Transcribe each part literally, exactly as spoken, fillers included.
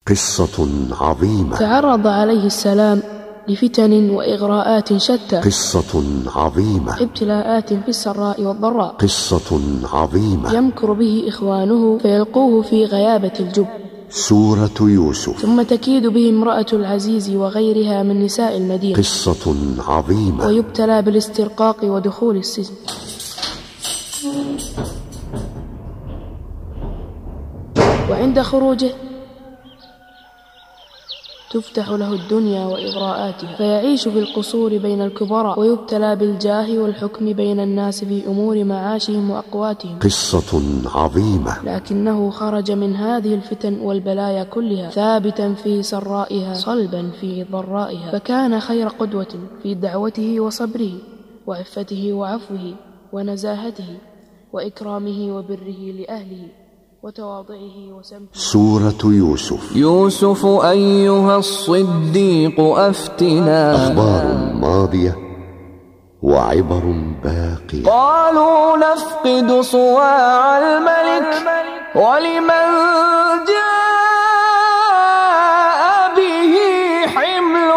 قصة عظيمة. تعرض عليه السلام لفتن وإغراءات شتى. قصة عظيمة. ابتلاءات في السراء والضراء. قصة عظيمة. يمكر به إخوانه فيلقوه في غيابة الجب. سورة يوسف. ثم تكيد به امرأة العزيز وغيرها من نساء المدينة. قصة عظيمة. ويبتلى بالاسترقاق ودخول السجن. وعند خروجه تفتح له الدنيا وإغراءاتها فيعيش في القصور بين الكبراء ويبتلى بالجاه والحكم بين الناس في أمور معاشهم وأقواتهم. قصة عظيمة. لكنه خرج من هذه الفتن والبلايا كلها ثابتا في سرائها صلبا في ضرائها، فكان خير قدوة في دعوته وصبره وعفته وعفوه ونزاهته وإكرامه وبره لأهله وتواضعه وسمته. سورة يوسف. يوسف أيها الصديق أفتنا. أخبار ماضية وعبر باقية. قالوا نفقد صواع الملك ولمن جاء به حمل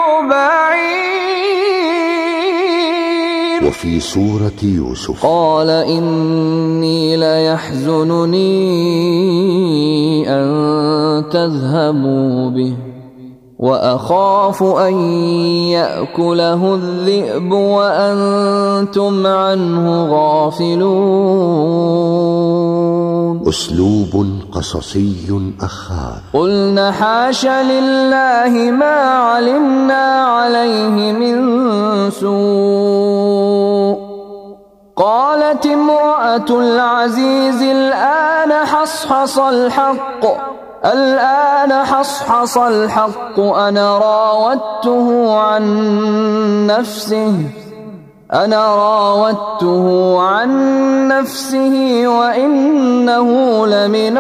بعير. وفي سورة يوسف قال إني ليحزنني أن تذهبوا به وأخاف أن يأكله الذئب وأنتم عنه غافلون. أسلوب قصصي أخاذ. قلنا حاش لله ما علمنا عليه من سوء. قالت امرأة العزيز الآن حصحص الحق الآن حصحص الحق أنا راودته عن نفسه أنا راودته عن نفسه وإنه لمن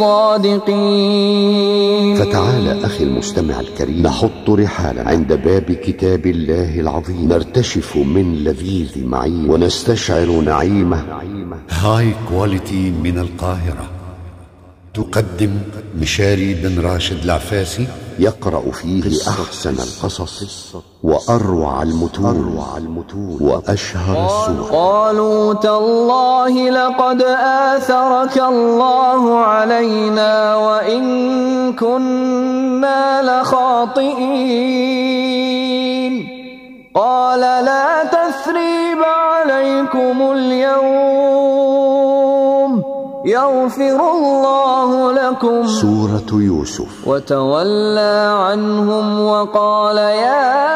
الصادقين. فتعال أخي المستمع الكريم نحط رحالا عند باب كتاب الله العظيم، نرتشف من لذيذ معين ونستشعر نعيمه. هاي كواليتي من القاهرة تقدم مشاري بن راشد العفاسي، يقرأ فيه أحسن القصص وأروع المتون وأشهر السور. قالوا تالله لقد آثرك الله علينا وإن كنا لخاطئين. قال لا تثريب عليكم اليوم يغفر الله لكم. سورة يوسف. وتولى عنهم وقال يا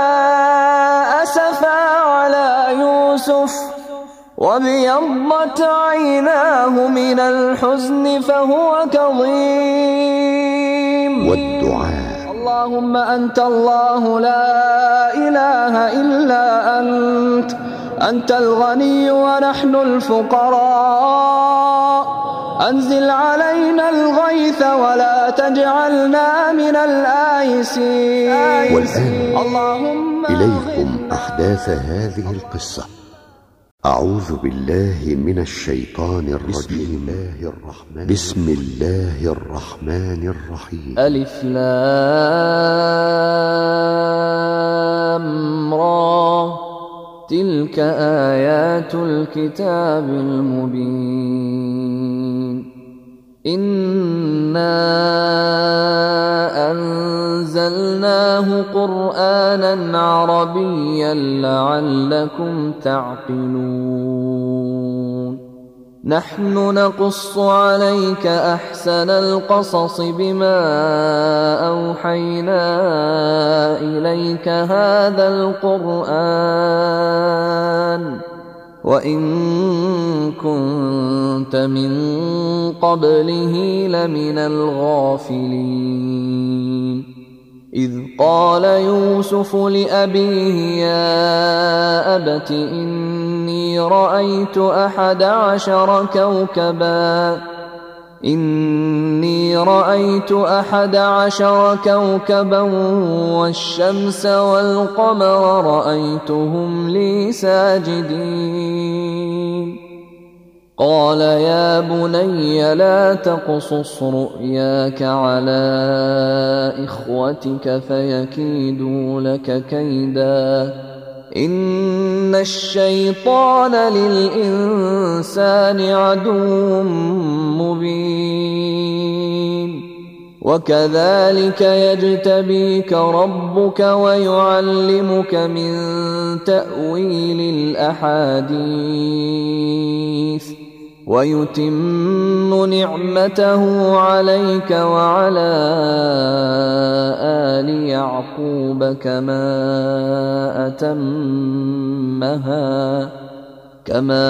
أسفا على يوسف وابيضت عيناه من الحزن فهو كظيم. والدعاء. اللهم أنت الله لا إله إلا أنت أنت الغني ونحن الفقراء. أنزل علينا الغيث ولا تجعلنا من الآيسين. والآن اللهم إليكم أحداث هذه القصة. أعوذ بالله من الشيطان الرجيم. بسم الله الرحمن الرحيم. ألف لام را تلك آيات الكتاب المبين. إنا أنزلناه قرآنا عربيا لعلكم تعقلون. نحن نقص عليك أحسن القصص بما أوحينا إليك هذا القرآن وإن كنت من قبله لمن الغافلين. إذ قال يوسف لأبيه يا أبت إني رأيت أحد عشر كوكبا إني رأيت أحد عشر كوكبا والشمس والقمر رأيتهم لي ساجدين. قال يا بني لا تقصص رؤياك على إخوتك فيكيدوا لك كيدا إن الشيطان للإنسان عدو مبين وكذلك يجتبيك ربك ويعلمك من تأويل الأحاديث ويتم نعمته عليك وعلى آل يعقوب كما أتمها كما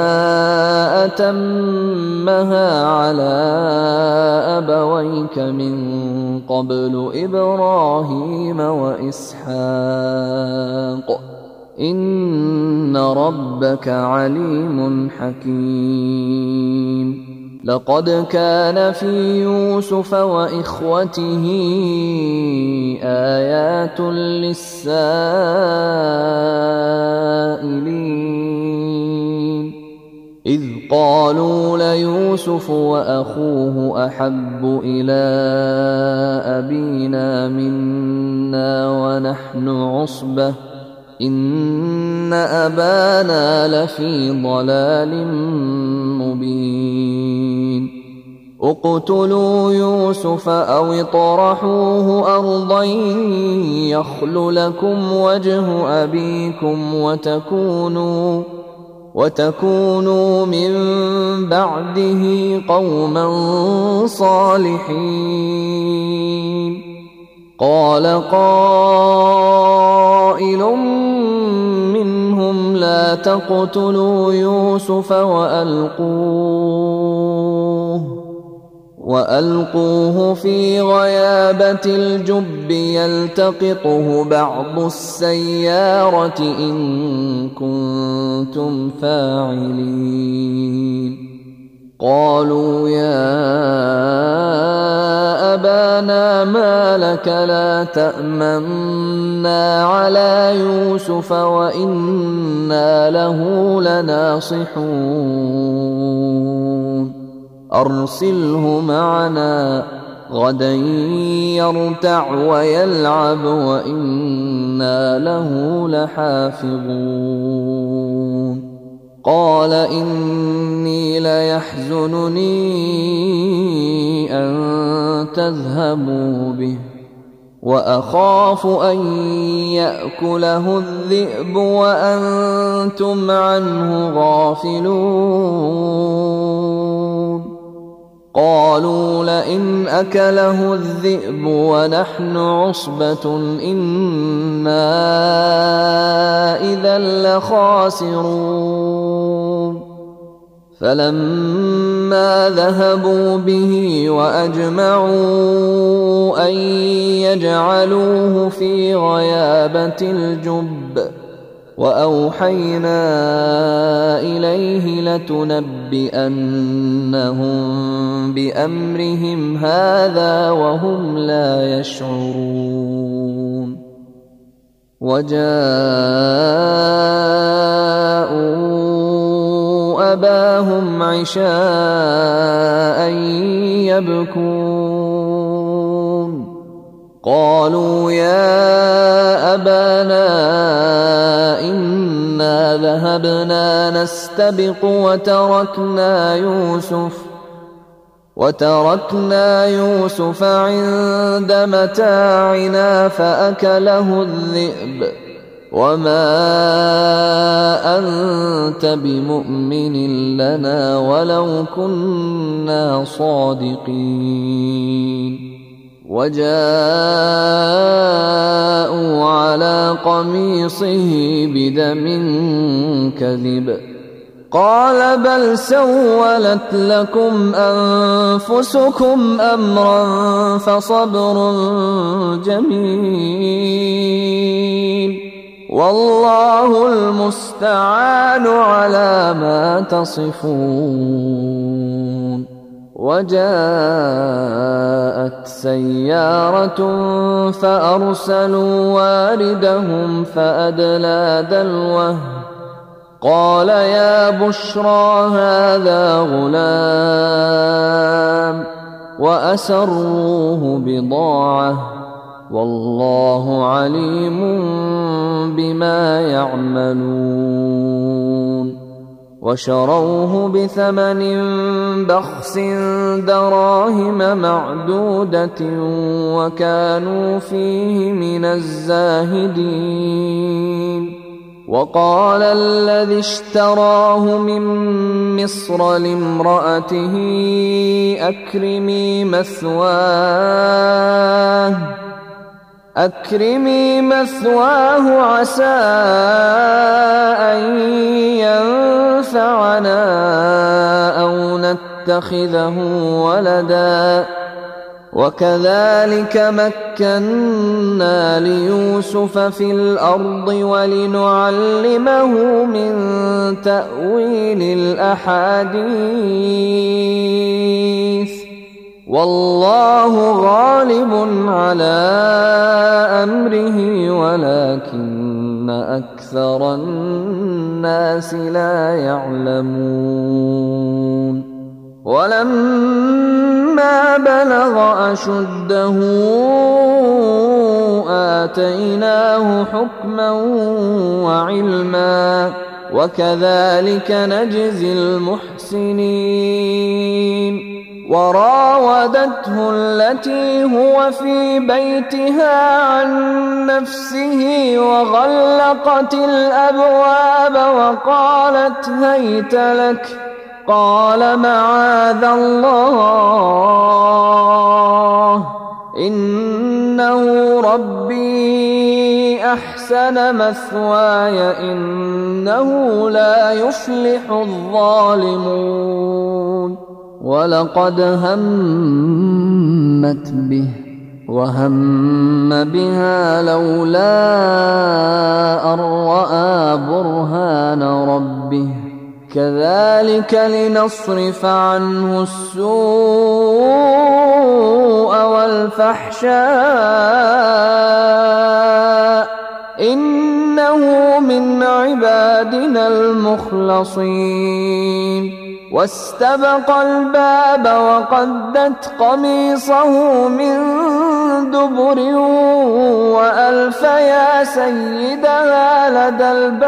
أتمها على أبويك من قبل إبراهيم وإسحاق إن ربك عليم حكيم لقد كان في يوسف وإخوته آيات للسائلين إذ قالوا ليوسف وأخوه أحب إلى أبينا منا ونحن عصبة إن أبانا لفي ضلال مبين اقتلوا يوسف أو اطرحوه أرضا يخل لكم وجه أبيكم وتكونوا وتكونوا من بعده قوما صالحين قال قائل منهم لا تقتلوا يوسف وألقوه وألقوه في غيابة الجب يلتقطه بعض السيارة إن كنتم فاعلين قالوا يا أبانا ما لك لا تأمنا على يوسف وإنا له لناصحون أرسله معنا غدا يرتع ويلعب وإنا له لحافظون قال إني ليحزنني أن تذهبوا به وأخاف أن يأكله الذئب وأنتم عنه غافلون قالوا لئن أكله الذئب ونحن عصبة إنا إذا لخاسرون فلما ذهبوا به وأجمعوا أن يجعلوه في غيابة الجب وأوحينا إليه لتنبئنهم بأمرهم هذا وهم لا يشعرون وجاءوا أباهم عشاء يبكون قالوا يا أبانا إنا ذهبنا نستبق وتركنا يوسف وتركنا يوسف عند متاعنا فأكله الذئب وما أنت بمؤمن لنا ولو كنا صادقين وجاءوا على قميصه بدم كذب قال بل سولت لكم أنفسكم أمرا فصبر جميل والله المستعان على ما تصفون وجاءت سيارة فأرسلوا واردهم فأدلى دلوه قال يا بشرى هذا غلام وأسروه بضاعة والله عليم بما يعملون وشروه بثمن بخس دراهم معدودة وكانوا فيه من الزاهدين وقال الذي اشتراه من مصر لامرأته أكرمي مثواه أكرمي مثواه عسى أن ينفعنا أو نتخذه ولدا وكذلك مكنا ليوسف في الأرض ولنعلمه من تأويل الأحاديث والله غالب على أمره ولكن أكثر الناس لا يعلمون ولما بلغ أشده آتيناه حكما وعلما وكذلك نجزي المحسنين وراودته التي هو في بيتها عن نفسه وغلقت الأبواب وقالت هيت لك قال معاذ الله إنه ربي أحسن مثواي إنه لا يفلح الظالمون ولقد همت به وهم بها لولا أن رأى برهان ربه كذلك لنصرف عنه السوء والفحشاء إنه من عبادنا المخلصين واستبق الباب وقدت قميصه من دبر وألف يا سيدها لدى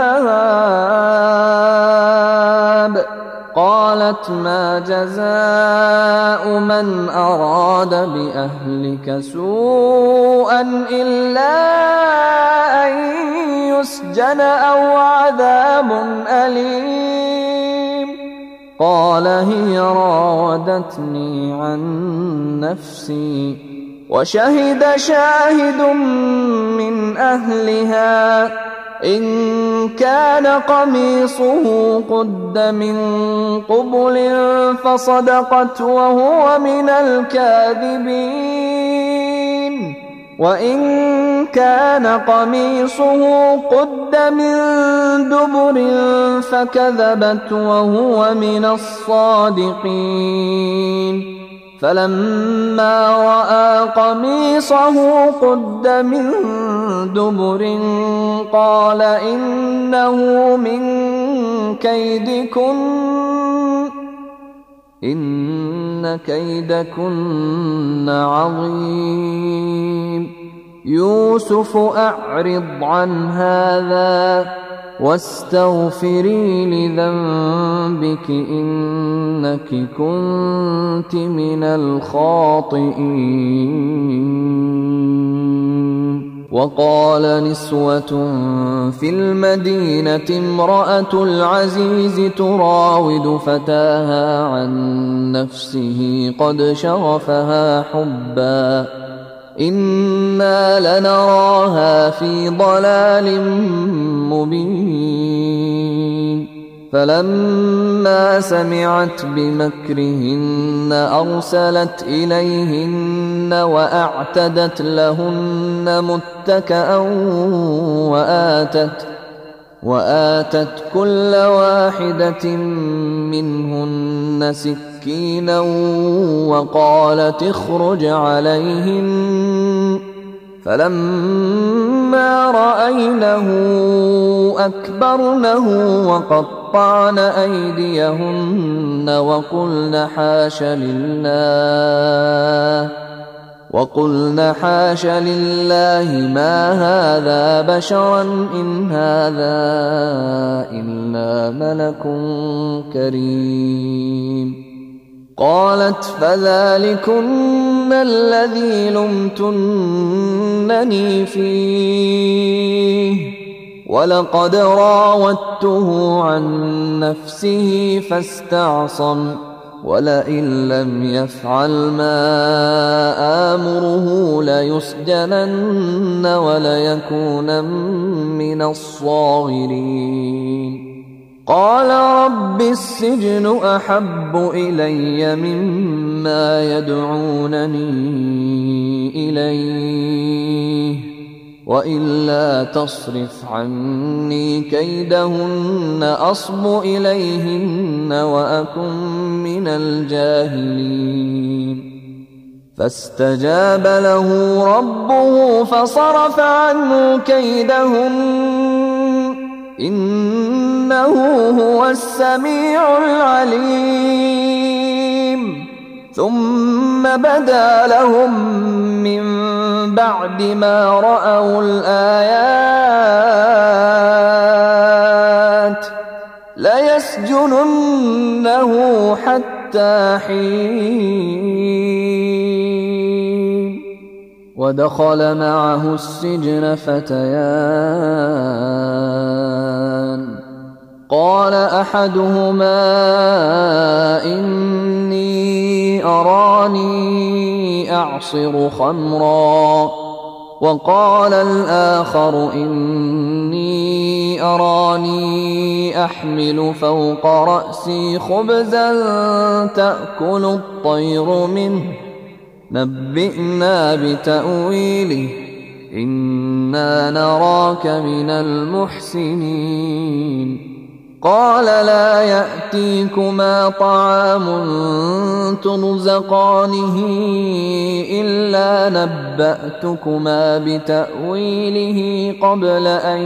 الباب قالت ما جزاء من أراد بأهلك سوءا إلا أن يسجن أو عذاب أليم قال هي راودتني عن نفسي وشهد شاهد من أهلها إن كان قميصه قد من قبل فصدقت وهو من الكاذبين وإن كان قميصه قد من دبر فكذبت وهو من الصادقين فلما رأى قميصه قد من دبر قال إنه من كيدكن إن كيدكن عظيم يوسف أعرض عن هذا واستغفري لذنبك إنك كنت من الخاطئين وقال نسوة في المدينة امرأة العزيز تراود فتاها عن نفسه قد شغفها حبا إنا لنراها في ضلال مبين فلما سمعت بمكرهن أرسلت إليهن وأعتدت لهن متكأ وآتت وآتت كل واحدة منهن سكينا وقالت اخرج عليهن فلما رأينه أكبرنه وقطعن أيديهن وقلن حاش لله وقلن حاش لله ما هذا بشرا إن هذا إلا ملك كريم. قالت فذلكن الذي لمتنني فيه ولقد راودته عن نفسه فاستعصم ولئن لم يفعل ما آمره ليسجنن وليكونن من الصاغرين. قال رب السجن أحب إلي مما يدعونني إليه وإلا تصرف عني كيدهن أصب إليهن وأكن من الجاهلين. فاستجاب له ربه فصرف عنه كيدهن إنه هو السميع العليم. ثم بدا لهم من بعد ما رأوا الآيات ليسجننه حتى حين. ودخل معه السجن فتيان قال أحدهما إني أراني أعصر خمرا وقال الآخر إني أراني أحمل فوق رأسي خبزا تأكل الطير منه نبئنا بتأويله إنا نراك من المحسنين. قال لا يأتيكما طعام ترزقانه إلا نبأتكما بتأويله قبل أن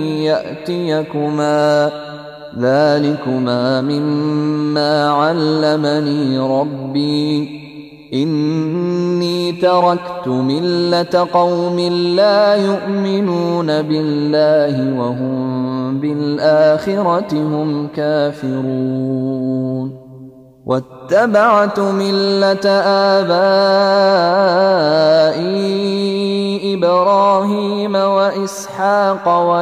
يأتيكما ذلكما مما علمني ربي إني تركت ملة قوم لا يؤمنون بالله وهم بالآخرة هم كافرون. واتبعت ملة آبائي إبراهيم وإسحاق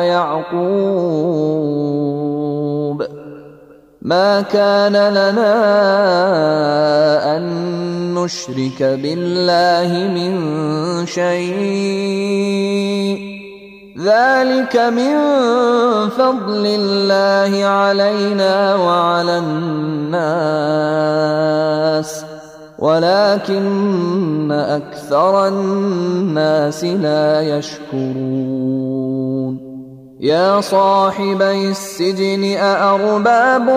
ويعقوب ما كان لنا أن نشرك بالله من شيء ذلك من فضل الله علينا وعلى الناس ولكن أكثر الناس لا يشكرون. يا صاحبي السجن أأرباب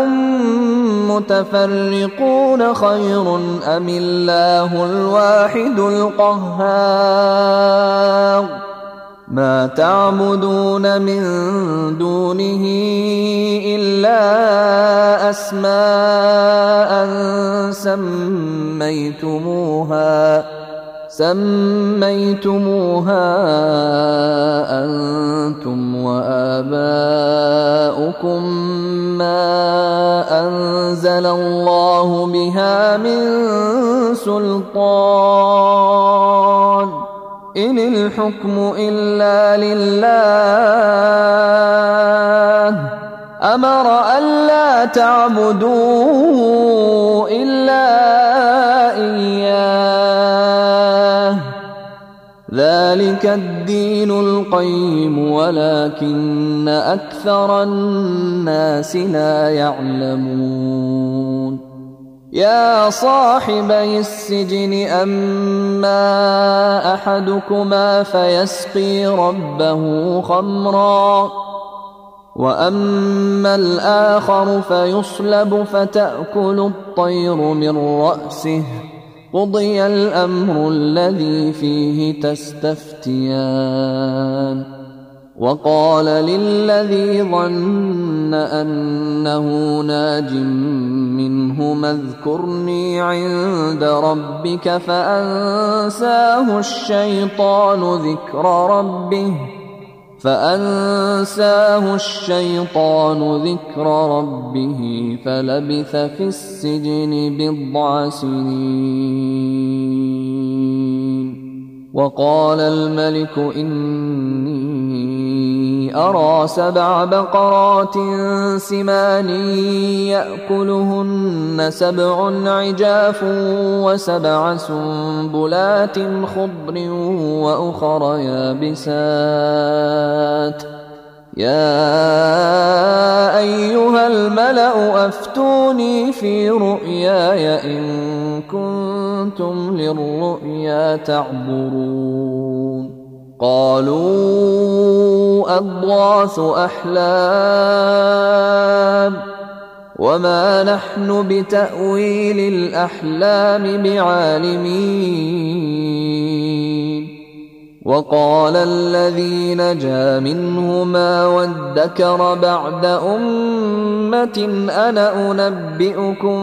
متفرقون خير أم الله الواحد القهار ما تعبدون من دونه إلا أسماء سميتموها سميتموها أنتم وآباؤكم ما أنزل الله بها من سلطان إن الحكم إلا لله أمر ألا تعبدوا إلا إياه ذلك الدين القيم ولكن أكثر الناس لا يعلمون. يا صاحبي السجن أما أحدكما فيسقي ربه خمرا وأما الآخر فيصلب فتأكل الطير من رأسه قضي الأمر الذي فيه تستفتيان وقال للذي ظن أنه ناج منهما اذكرني عند ربك فأنساه الشيطان ذكر ربه فأنساه الشيطان ذكر ربه فلبث في السجن بضع سنين. وقال الملك إني أرى سبع بقرات سمان يأكلهن سبع عجاف وسبع سنبلات خضر وأخر يابسات يا أيها الملأ أفتوني في رؤياي إن كنتم للرؤيا تعبرون. قالوا أضغاث أحلام وما نحن بتأويل الأحلام بعالمين. وقال الذي نجا منهما وادكر بعد أمة أنا أنبئكم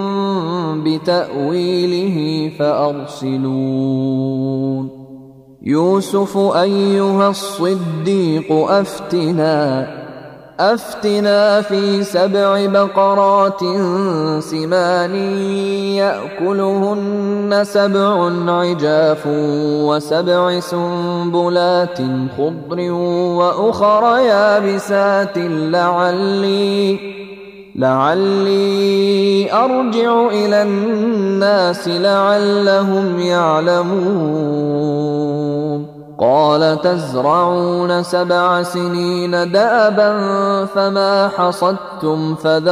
بتأويله فأرسلون. يوسف أيها الصديق أفتنا أفتنا في سبع بقرات سمان يأكلهن سبع عجاف وسبع سنبلات خضر وأخر يابسات لعلي لعلي أرجع إلى الناس لعلهم يعلمون. قال تزرعون سبع سنين دأبا فما حصدتم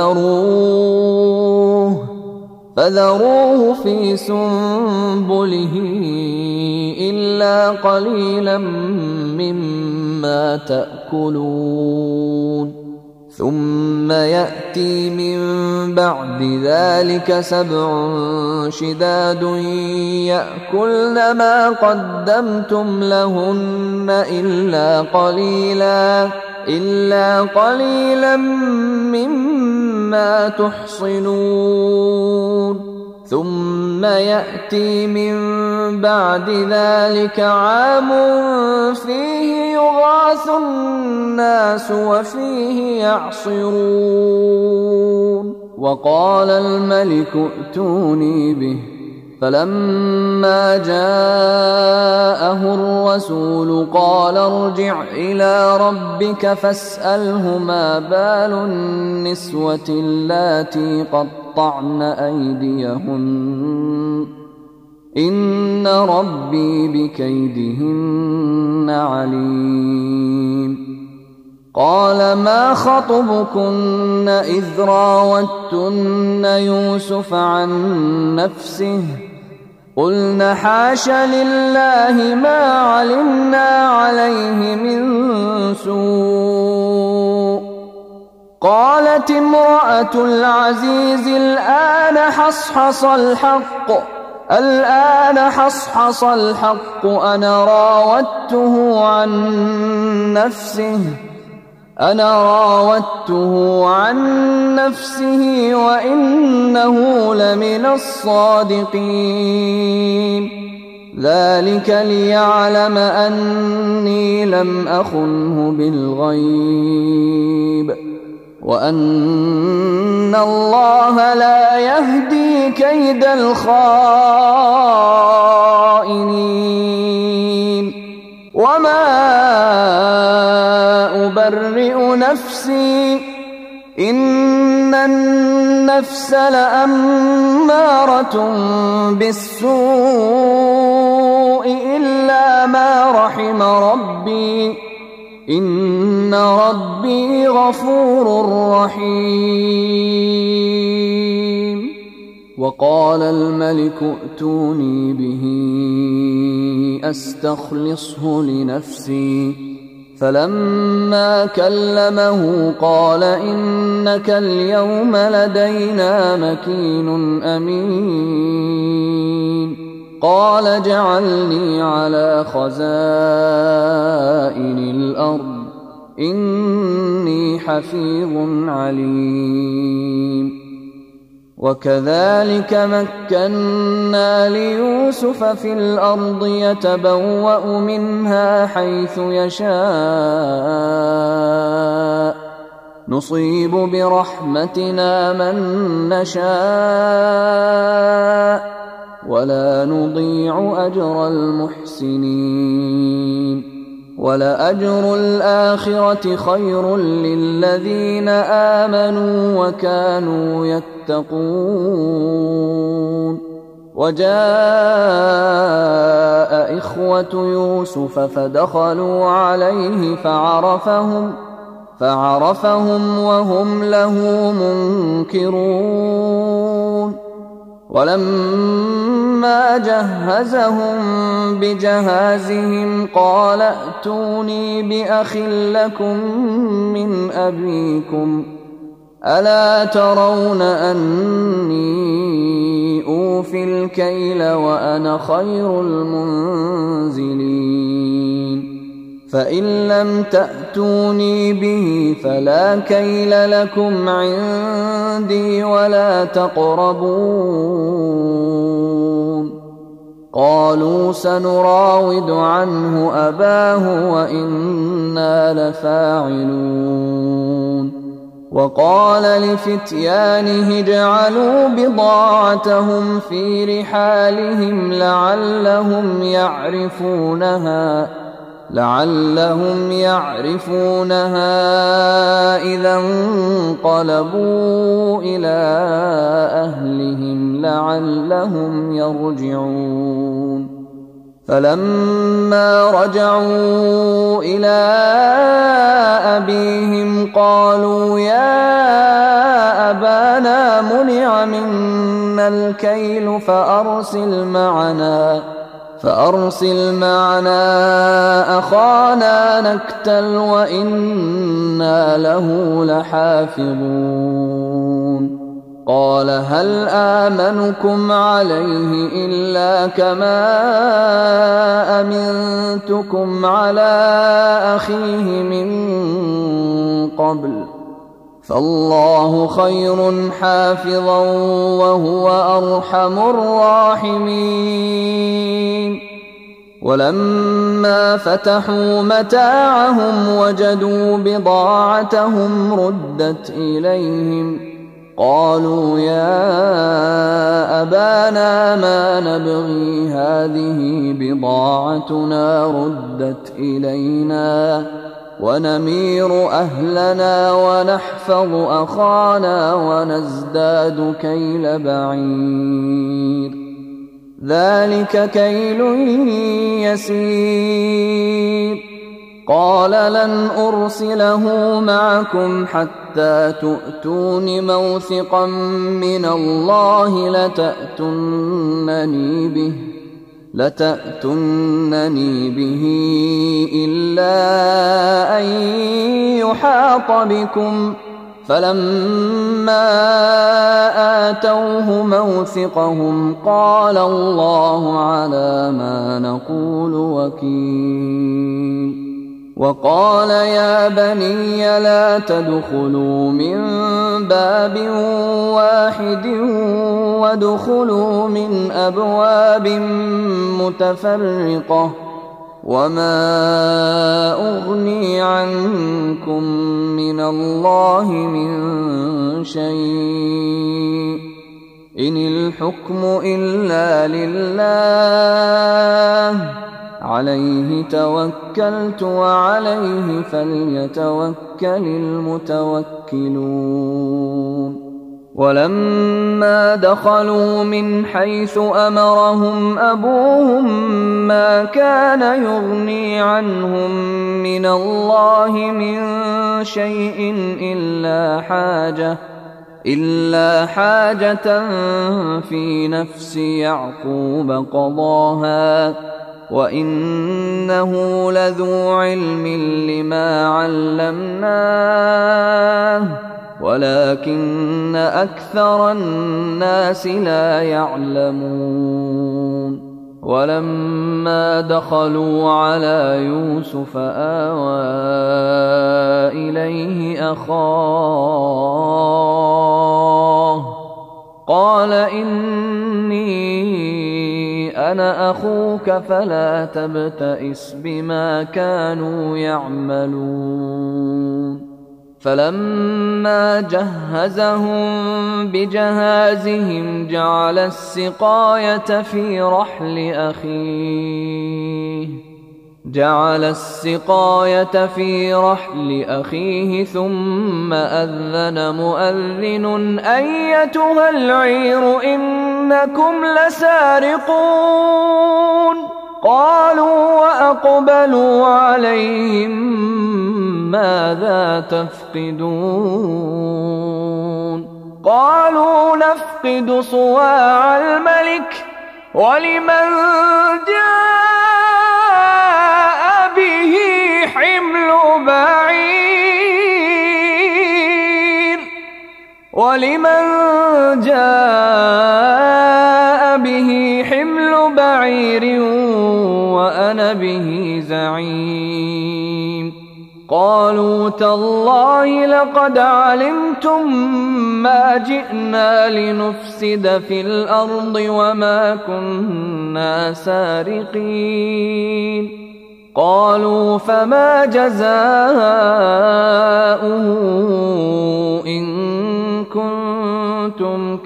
فذروه فذروه في سنبله إلا قليلا مما تأكلون. ثم يأتي من بعد ذلك سبع شداد يأكلن ما قدمتم لهن إلا قليلا إلا قليلا مما تحصنون. ثم يأتي من بعد ذلك عام فيه يغاث الناس وفيه يعصرون. وقال الملك ائتوني به فلما جاءه الرسول قال ارجع إلى ربك فاسأله ما بال النسوة اللاتي قطعن أيديهن إن ربي بكيدهن عليم. قال ما خطبكن إذ راوتن يوسف عن نفسه قلن حاش لله ما علمنا عليه من سوء. قالت امرأة العزيز الآن حصحص الحق الآن حصحص الحق أنا راودته عن نفسه أنا راودته عن نفسه وإنه لمن الصادقين. ذلك ليعلم أني لم أخنه بالغيب وأن الله لا يهدي كيد الخائنين. وما أبرئ نفسي إن النفس لأمارة بالسوء إلا ما رحم ربي إن ربي غفور رحيم. وقال الملك ائتوني به أستخلصه لنفسي فلما كلمه قال إنك اليوم لدينا مكين أمين. قال اجعلني على خزائن الأرض إني حفيظ عليم. وكذلك مكنا ليوسف في الأرض يتبوأ منها حيث يشاء نصيب برحمتنا من نشاء ولا نضيع أجر المحسنين. ولأجر الآخرة خير للذين آمنوا وكانوا يتقون. وجاء إخوة يوسف فدخلوا عليه فعرفهم فعرفهم وهم له منكرون. ولما جهزهم بجهازهم قال ائتوني بأخ لكم من أبيكم ألا ترون أني أوفي الكيل وأنا خير المنزلين. فإن لم تأتوني به فلا كيل لكم عندي ولا تقربون. قالوا سنراود عنه أباه وإنا لفاعلون. وقال لفتيانه اجعلوا بضاعتهم في رحالهم لعلهم يعرفونها لعلهم يعرفونها إذا انقلبوا إلى أهلهم لعلهم يرجعون. فلما رجعوا إلى أبيهم قالوا يا أبانا منع منا الكيل فأرسل معنا فأرسل معنا أخانا نكتل وإنا له لحافظون. قال هل آمنكم عليه إلا كما أمنتكم على أخيه من قبل فالله خير حافظا وهو أرحم الراحمين. ولما فتحوا متاعهم وجدوا بضاعتهم ردت إليهم قالوا يا أبانا ما نبغي هذه بضاعتنا ردت إلينا ونمير أهلنا ونحفظ أخانا ونزداد كيل بعير ذلك كيل يسير. قال لن أرسله معكم حتى تؤتون موثقا من الله لتأتونني به لتأتونني به إلا أن يحاط بكم. فلما آتوه موثقهم قال الله على ما نقول وكيل. وقال يا بني لا تدخلوا من باب واحد وادخلوا من أبواب متفرقة وما أغني عنكم من الله من شيء إن الحكم إلا لله عليه توكلت وعليه فليتوكل المتوكلون. ولما دخلوا من حيث أمرهم أبوهم ما كان يغني عنهم من الله من شيء إلا حاجة إلا حاجة في نفس يعقوب قضاها وإنه لذو علم لما علمناه ولكن أكثر الناس لا يعلمون. ولما دخلوا على يوسف آوى إليه أخاه قال إني أنا أخوك فلا تبتئس بما كانوا يعملون فلما جهزهم بجهازهم جعل السقاية في رحل أخيه جعل السقاية في رحل أخيه ثم أذن مؤذن أيتها العير إنكم لسارقون قالوا وأقبلوا عليهم ماذا تفقدون قالوا نفقد صواع الملك ولمن جاء به حمل بعير ولمن جاء به حمل بعير وأنا به زعيم قالوا تالله لقد علمتم ما جئنا لنفسد في الأرض وما كنا سارقين قالوا فما جزاؤه إن كنتم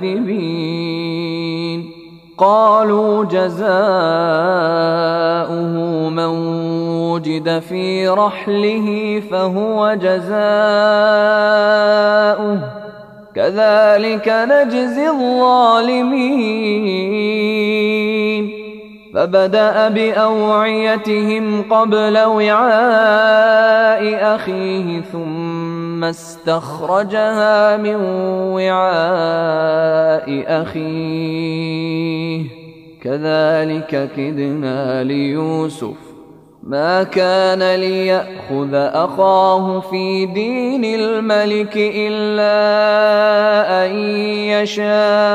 كاذبين قالوا جزاؤه من وجد في رحله فهو جزاؤه كذلك نجزي الظالمين فبدأ بأوعيتهم قبل وعاء أخيه ثم استخرجها من وعاء أخيه كذلك كدنا ليوسف ما كان ليأخذ أخاه في دين الملك إلا أن يشاء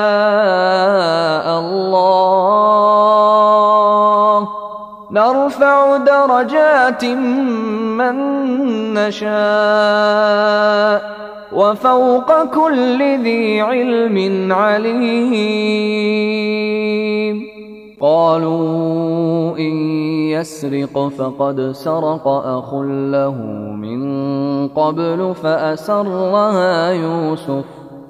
الله نرفع درجات من نشاء وفوق كل ذي علم عليم قالوا إن يسرق فقد سرق أخ له من قبل فأسرها يوسف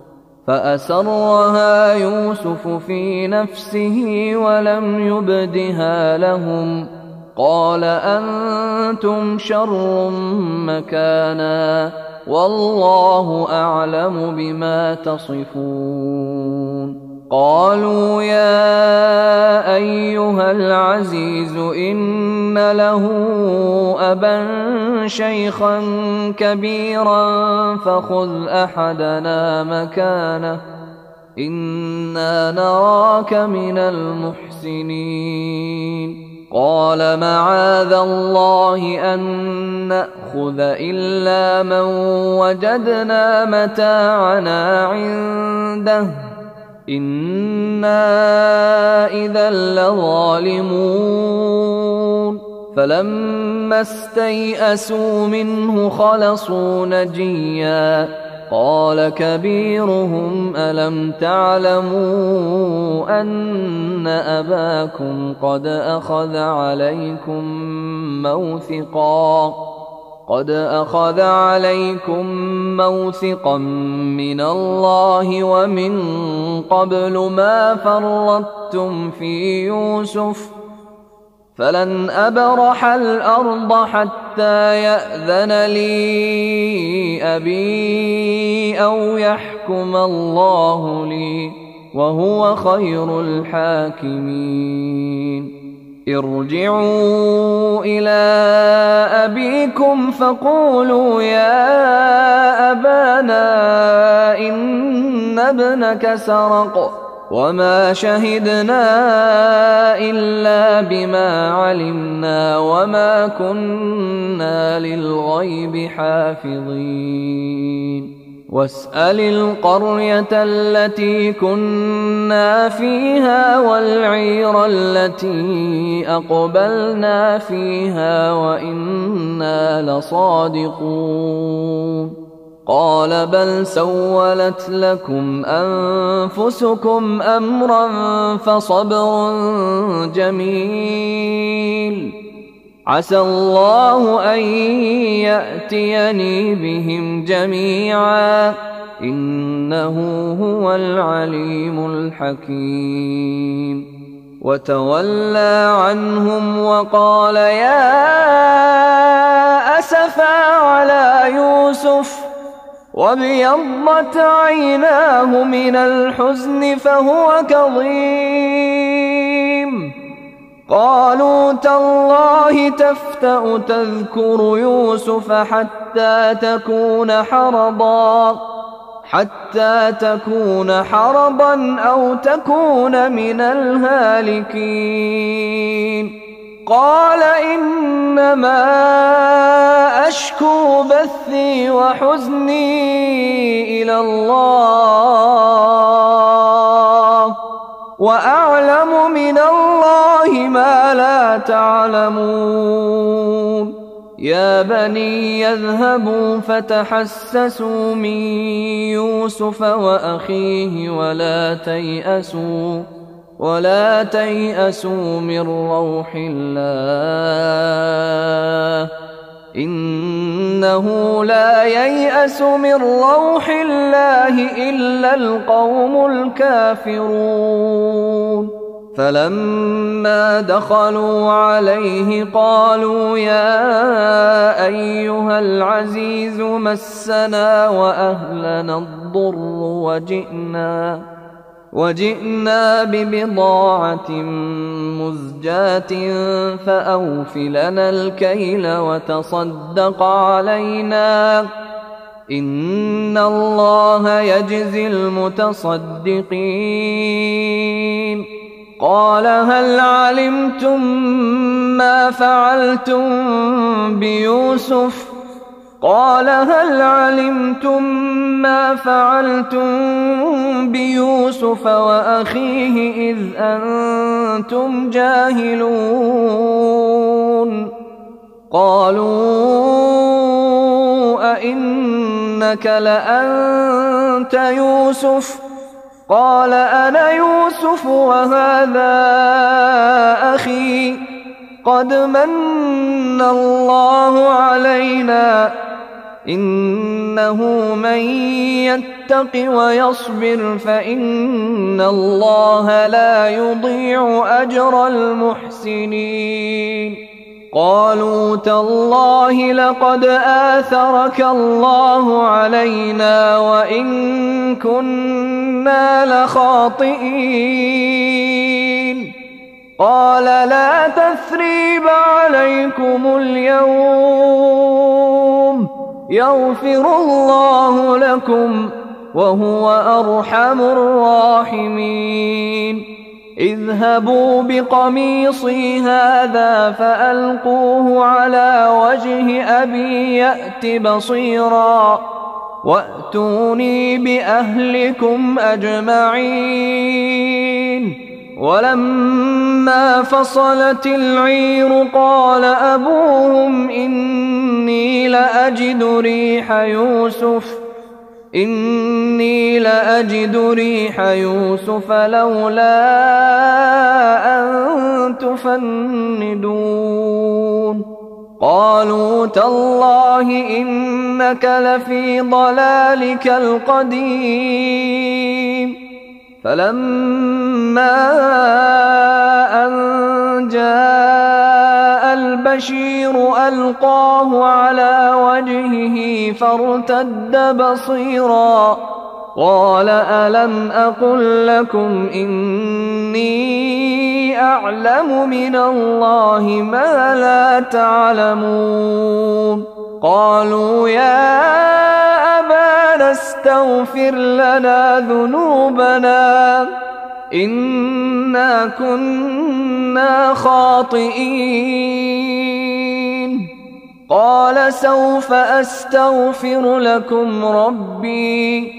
فأسرها يوسف في نفسه ولم يبدها لهم قال أنتم شر مكانا والله أعلم بما تصفون قالوا يا أيها العزيز إن له أبا شيخا كبيرا فخذ أحدنا مكانه إنا نراك من المحسنين قال معاذ الله أن نأخذ إلا من وجدنا متاعنا عنده إنا إذا لظالمون فلما استيئسوا منه خلصوا نجيا قال كبيرهم ألم تعلموا أن أباكم قد أخذ عليكم موثقا قد أخذ عليكم موثقا من الله ومن قبل ما فرطتم في يوسف فلن أبرح الأرض حتى يأذن لي أبي أو يحكم الله لي وهو خير الحاكمين ارجعوا إلى أبيكم فقولوا يا أبانا إن ابنك سرق وما شهدنا إلا بما علمنا وما كنا للغيب حافظين واسأل القرية التي كنا فيها والعير التي أقبلنا فيها وإنا لصادقون قال بل سولت لكم أنفسكم أمرا فصبر جميل عسى الله أن يأتيني بهم جميعا إنه هو العليم الحكيم وتولى عنهم وقال يا أسفا على يوسف وابيضت عيناه من الحزن فهو كظيم قالوا تالله تفتأ تذكر يوسف حتى تكون حرضا حتى تكون حرضا أو تكون من الهالكين قال إنما أشكو بثي وحزني إلى الله وأعلم من الله ما لا تعلمون يا بني يذهبوا فتحسسوا من يوسف وأخيه ولا تيأسوا ولا تيأسوا من روح الله إنه لا ييأس من روح الله إلا القوم الكافرون فلما دخلوا عليه قالوا يا أيها العزيز مسنا وأهلنا الضر وجئنا وجئنا ببضاعة مزجاة فأوف لنا الكيل وتصدق علينا إن الله يجزي المتصدقين قال هل علمتم ما فعلتم بيوسف قال هل علمتم ما فعلتم بيوسف وأخيه إذ أنتم جاهلون قالوا أئنك لأنت يوسف قال أنا يوسف وهذا أخي قد من الله علينا إنه من يتق ويصبر فإن الله لا يضيع أجر المحسنين قالوا تالله لقد آثرك الله علينا وإن كنا لخاطئين قال لا تثريب عليكم اليوم يغفر الله لكم وهو أرحم الراحمين اذهبوا بقميصي هذا فألقوه على وجه أبي يأت بصيرا وأتوني بأهلكم أجمعين ولما فصلت العير قال أبوهم إني لأجد ريح يوسف إني لأجد ريح يوسف لولا أن تفندون قالوا تالله إنك لفي ضلالك القديم فلما أن جاء البشير ألقاه على وجهه فارتد بصيرا قال ألم أقل لكم إني أعلم من الله ما لا تعلمون قالوا يا أبانا استغفر لنا ذنوبنا إنا كنا خاطئين قال سوف أستغفر لكم ربي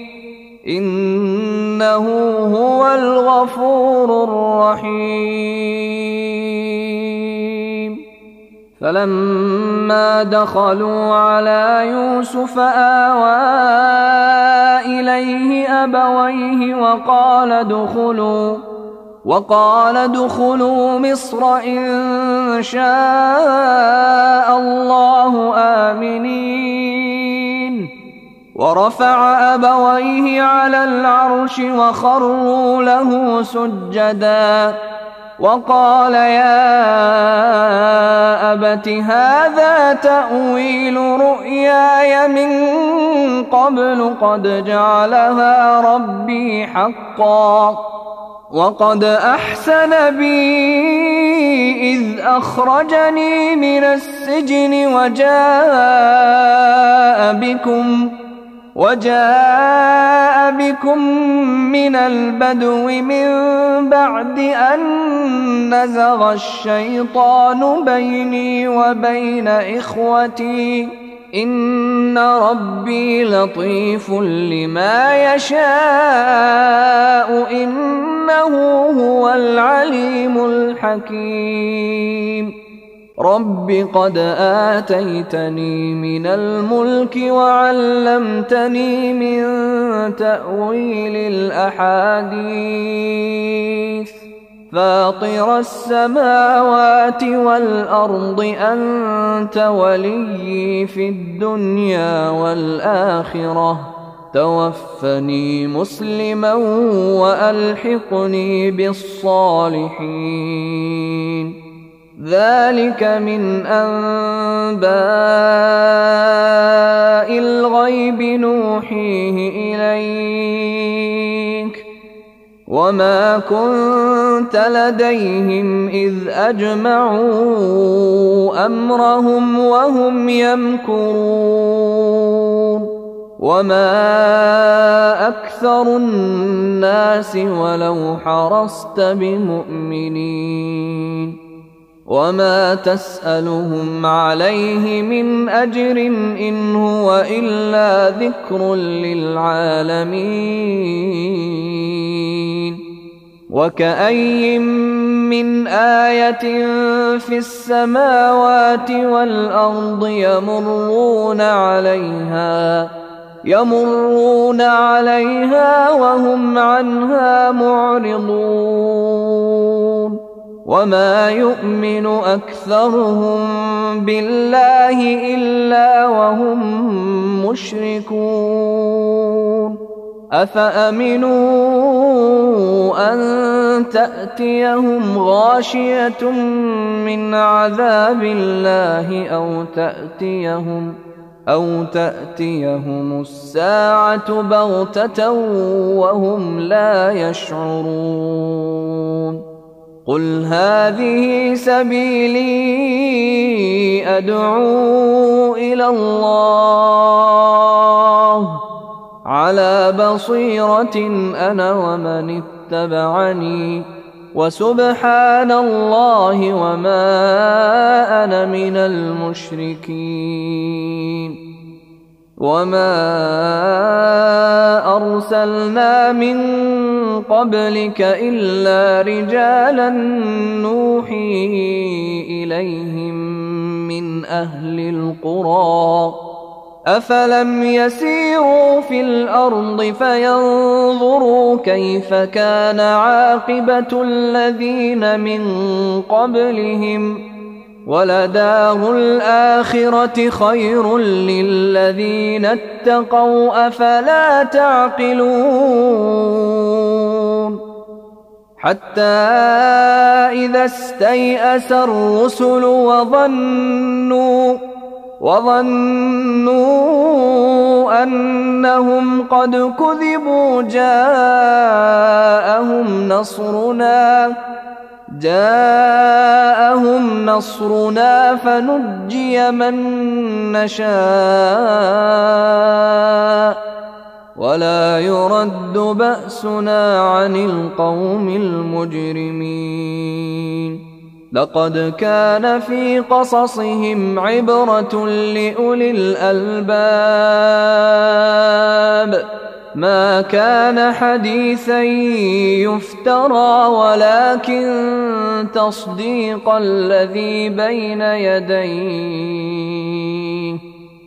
إنه هو الغفور الرحيم. فلما دخلوا على يوسف آوى إليه أبويه وقال ادخلوا وقال ادخلوا مصر إن شاء الله آمنين. ورفع أبويه على العرش وخروا له سجدا وقال يا أبت هذا تأويل رؤياي من قبل قد جعلها ربي حقا وقد أحسن بي إذ أخرجني من السجن وجاء بكم وجاء بكم من البدو من بعد أن نزغ الشيطان بيني وبين إخوتي إن ربي لطيف لما يشاء إنه هو العليم الحكيم. رب قد آتيتني من الملك وعلمتني من تأويل الأحاديث فاطر السماوات والأرض أنت وليي في الدنيا والآخرة توفني مسلما وألحقني بالصالحين. ذلك من أنباء الغيب نوحيه إليك وما كنت لديهم إذ أجمعوا أمرهم وهم يمكرون وما أكثر الناس ولو حرصت بمؤمنين وما تسألهم عليه من أجر إن هو إلا ذكر للعالمين. وكأي من آية في السماوات والأرض يمرون عليها يمرون عليها وهم عنها معرضون وما يؤمن أكثرهم بالله إلا وهم مشركون. أفأمنوا أن تأتيهم غاشية من عذاب الله أو تأتيهم أو تأتيهم الساعة بغتة وهم لا يشعرون. قل هذه سبيلي أدعو إلى الله على بصيرة أنا ومن اتبعني وسبحان الله وما أنا من المشركين. وما أرسلنا من قبلك إلا رجالا نوحي إليهم من أهل القرى أفلم يسيروا في الأرض فينظروا كيف كان عاقبة الذين من قبلهم ولدار الآخرة خير للذين اتقوا أفلا تعقلون. حتى إذا استيأس الرسل وظنوا وظنوا أنهم قد كذبوا جاءهم نصرنا جاءهم نصرنا فنجي من نشاء ولا يرد بأسنا عن القوم المجرمين. لقد كان في قصصهم عبرة لأولي الألباب ما كان حديثا يفترى ولكن تصديق الذي بين يديه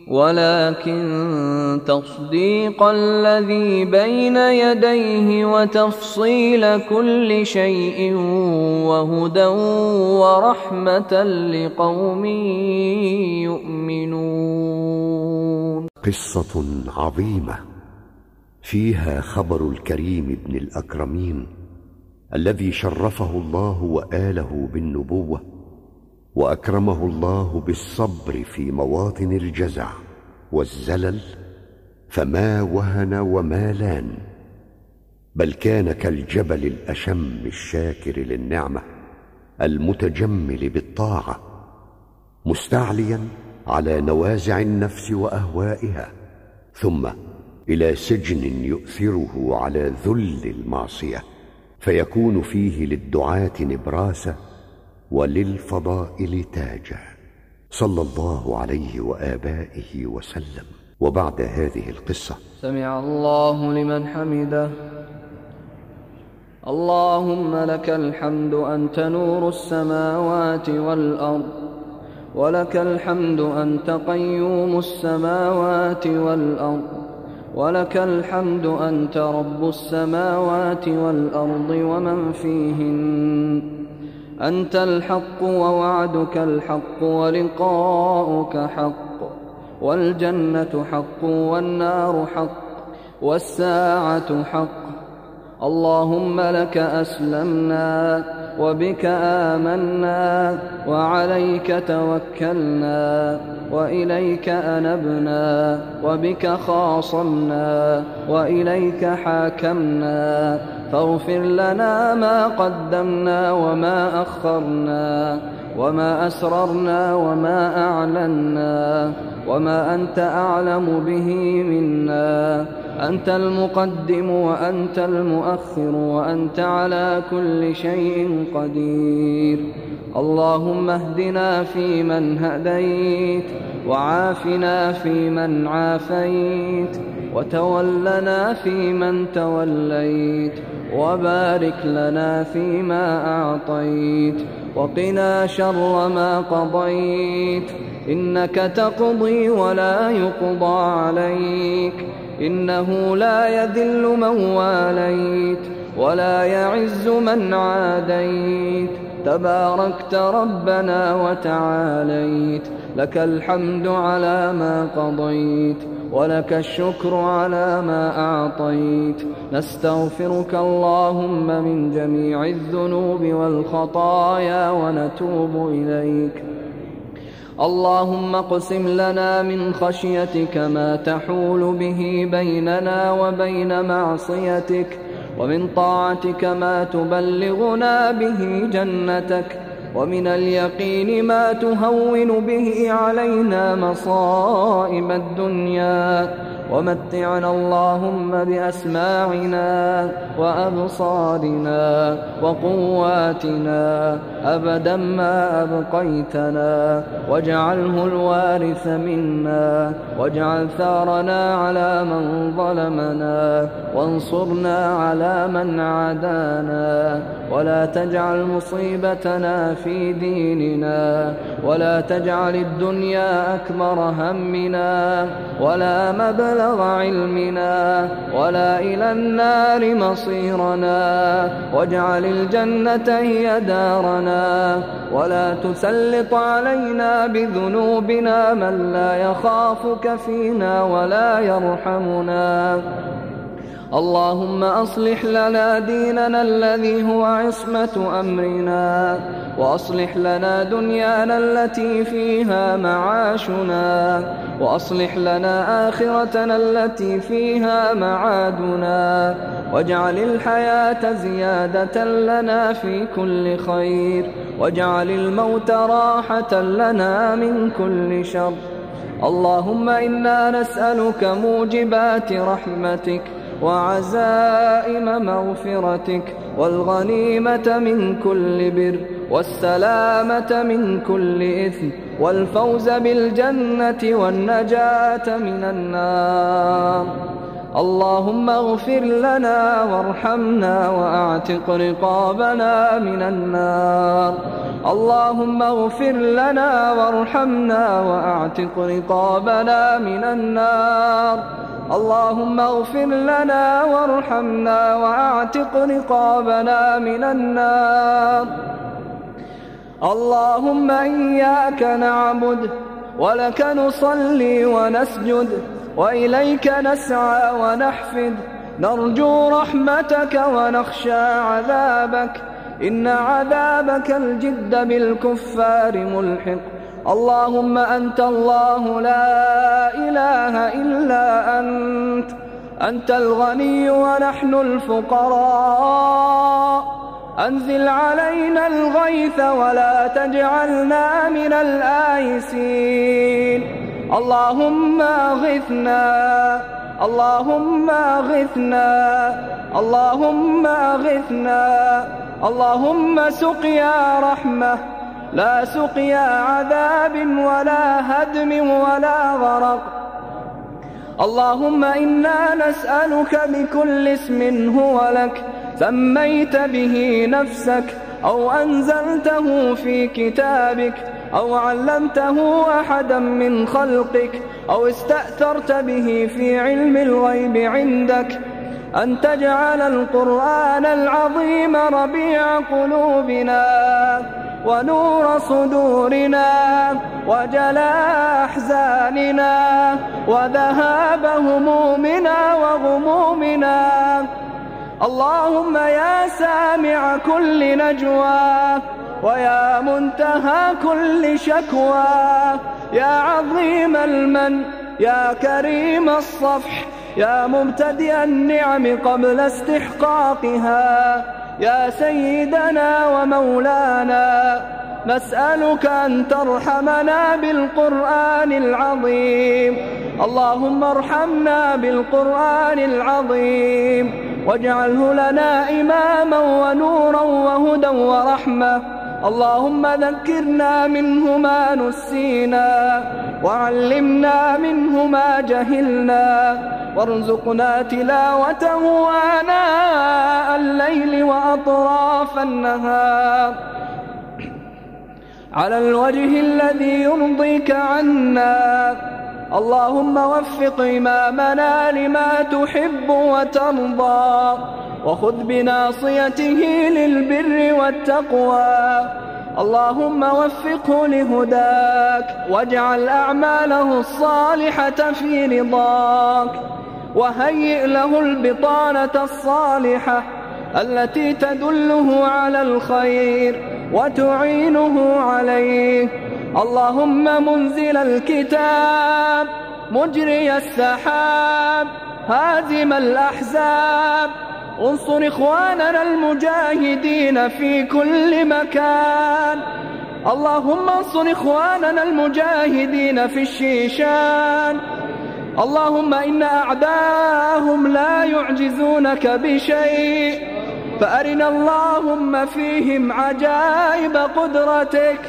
ولكن تصديق الذي بين يديه وتفصيل كل شيء وهدى ورحمة لقوم يؤمنون. قصة عظيمة فيها خبر الكريم ابن الأكرمين الذي شرفه الله وآله بالنبوة وأكرمه الله بالصبر في مواطن الجزع والزلل فما وهن وما لان، بل كان كالجبل الأشم الشاكر للنعمة المتجمل بالطاعة مستعليا على نوازع النفس وأهوائها، ثم إلى سجن يؤثره على ذل المعصية فيكون فيه للدعاة نبراسة وللفضائل تاجا، صلى الله عليه وآبائه وسلم. وبعد هذه القصة: سمع الله لمن حمده. اللهم لك الحمد أنت نور السماوات والأرض، ولك الحمد أنت قيوم السماوات والأرض، ولك الحمد أنت رب السماوات والأرض ومن فيهن. أنت الحق ووعدك الحق ولقاؤك حق، والجنة حق والنار حق والساعة حق. اللهم لك أسلمنا وبك آمنا وعليك توكلنا وإليك أنبنا وبك خاصمنا وإليك حاكمنا، فاغفر لنا ما قدمنا وما أخرنا وما أسررنا وما أعلنا وما أنت أعلم به منا. أنت المقدم وأنت المؤخر وأنت على كل شيء قدير. اللهم اهدنا فيمن هديت، وعافنا فيمن عافيت، وتولنا فيمن توليت، وبارك لنا فيما أعطيت، وقنا شر ما قضيت. إنك تقضي ولا يقضى عليك، إنه لا يذل من واليت ولا يعز من عاديت. تباركت ربنا وتعاليت، لك الحمد على ما قضيت ولك الشكر على ما أعطيت. نستغفرك اللهم من جميع الذنوب والخطايا ونتوب إليك. اللهم اقسم لنا من خشيتك ما تحول به بيننا وبين معصيتك، ومن طاعتك ما تبلغنا به جنتك، ومن اليقين ما تهون به علينا مصائب الدنيا. ومتعنا اللهم بأسماعنا وأبصارنا وقواتنا أبدا ما أبقيتنا، واجعله الوارث منا، واجعل ثارنا على من ظلمنا، وانصرنا على من عادانا، ولا تجعل مصيبتنا في ديننا، ولا تجعل الدنيا أكبر همنا ولا مبلغ علمنا ولا إلى النار مصيرنا، واجعل الجنة هي دارنا، ولا تسلط علينا بذنوبنا من لا يخافك فينا ولا يرحمنا. اللهم أصلح لنا ديننا الذي هو عصمة أمرنا، وأصلح لنا دنيانا التي فيها معاشنا، وأصلح لنا آخرتنا التي فيها معادنا، واجعل الحياة زيادة لنا في كل خير، واجعل الموت راحة لنا من كل شر. اللهم إنا نسألك موجبات رحمتك وعزائم مغفرتك والغنيمة من كل بر والسلامة من كل إثم والفوز بالجنة والنجاة من النار. اللهم اغفر لنا وارحمنا وأعتق رقابنا من النار. اللهم اغفر لنا وارحمنا وأعتق رقابنا من النار. اللهم اغفر لنا وارحمنا وأعتق رقابنا من النار. اللهم إياك نعبد ولك نصلي ونسجد وإليك نسعى ونحفد، نرجو رحمتك ونخشى عذابك، إن عذابك الجد بالكفار ملحق. اللهم أنت الله لا إله إلا أنت، أنت الغني ونحن الفقراء، أنزل علينا الغيث ولا تجعلنا من الآيسين. اللهم أغثنا، اللهم أغثنا، اللهم أغثنا، اللهم سقيا رحمة لا سقيا عذاب ولا هدم ولا غرق. اللهم إنا نسألك بكل اسم هو لك سميت به نفسك أو أنزلته في كتابك أو علمته أحدا من خلقك أو استأثرت به في علم الغيب عندك أن تجعل القرآن العظيم ربيع قلوبنا ونور صدورنا وجلاء أحزاننا وذهاب همومنا وغمومنا. اللهم يا سامع كل نجوى ويا منتهى كل شكوى، يا عظيم المن، يا كريم الصفح، يا مبتدئ النعم قبل استحقاقها، يا سيدنا ومولانا، نسألك أن ترحمنا بالقرآن العظيم. اللهم ارحمنا بالقرآن العظيم واجعله لنا إماما ونورا وهدى ورحمة. اللهم ذكرنا منه ما نسينا وعلمنا منه ما جهلنا وارزقنا تلاوته آناء الليل وأطراف النهار على الوجه الذي يرضيك عنا. اللهم وفق إمامنا لما تحب وترضى وخذ بناصيته للبر والتقوى. اللهم وفقه لهداك واجعل أعماله الصالحة في رضاك وهيئ له البطانة الصالحة التي تدله على الخير وتعينه عليه. اللهم منزل الكتاب مجري السحاب هازم الأحزاب انصر إخواننا المجاهدين في كل مكان. اللهم انصر إخواننا المجاهدين في الشيشان. اللهم إن أعداءهم لا يعجزونك بشيء، فأرنا اللهم فيهم عجائب قدرتك.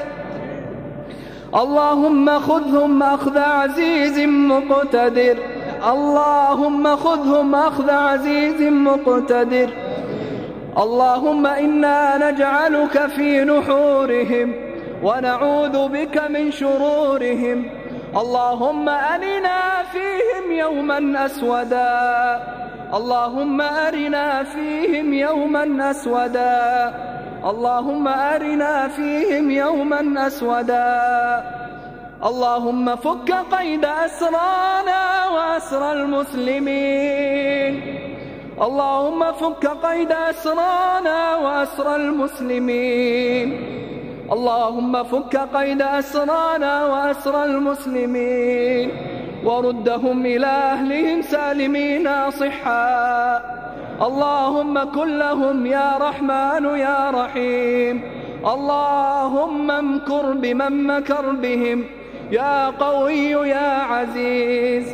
اللهم خذهم أخذ عزيز مقتدر، اللهم خذهم أخذ عزيز مقتدر. اللهم إنا نجعلك في نحورهم ونعوذ بك من شرورهم. اللهم أرنا فيهم يوما أسودا، اللهم أرنا فيهم يوما أسودا، اللهم أرنا فيهم يوما أسودا. اللهم فك قيد أسرانا وأسر المسلمين. اللهم فك قيد أسرانا وأسر المسلمين. اللهم فك قيد أسرانا وأسر المسلمين وردهم إلى أهلهم سالمين صحا. اللهم كن لهم يا رحمن يا رحيم. اللهم امكر بمن مكر بهم يا قوي يا عزيز.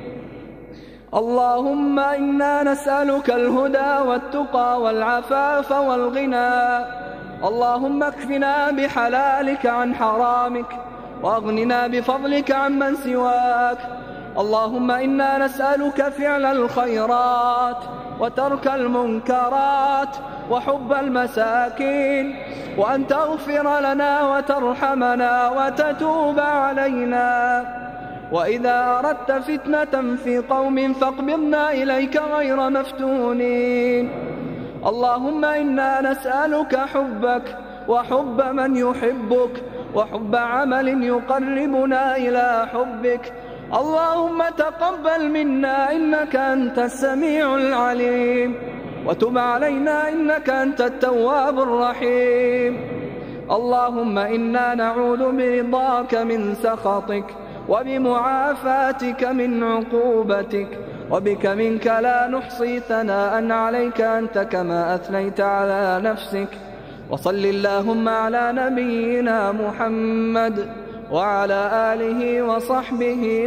اللهم إنا نسألك الهدى والتقى والعفاف والغنى. اللهم اكفنا بحلالك عن حرامك وأغننا بفضلك عمن سواك. اللهم إنا نسألك فعل الخيرات وترك المنكرات وحب المساكين، وأن تغفر لنا وترحمنا وتتوب علينا. وإذا أردت فتنة في قوم فاقبضنا إليك غير مفتونين. اللهم إنا نسألك حبك وحب من يحبك وحب عمل يقربنا إلى حبك. اللهم تقبل منا إنك أنت السميع العليم، وتب علينا إنك أنت التواب الرحيم. اللهم إنا نعوذ برضاك من سخطك وبمعافاتك من عقوبتك، وبك منك لا نحصي ثناء عليك أنت كما أثنيت على نفسك. وصل اللهم على نبينا محمد وعلى آله وصحبه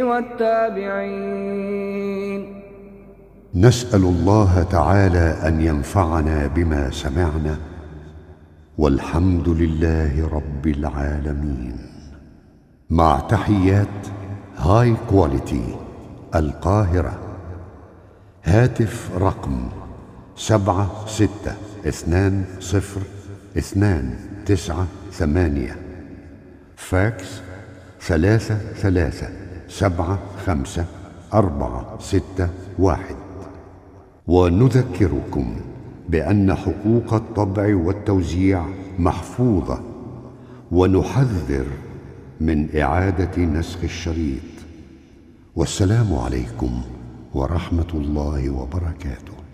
والتابعين. نسأل الله تعالى أن ينفعنا بما سمعنا، والحمد لله رب العالمين. مع تحيات هاي كواليتي القاهرة. هاتف رقم سبعة ستة اثنان صفر اثنان تسعة ثمانية. فاكس ثلاثة ثلاثة سبعة خمسة أربعة ستة واحد. ونذكركم بأن حقوق الطبع والتوزيع محفوظة، ونحذر من إعادة نسخ الشريط. والسلام عليكم ورحمة الله وبركاته.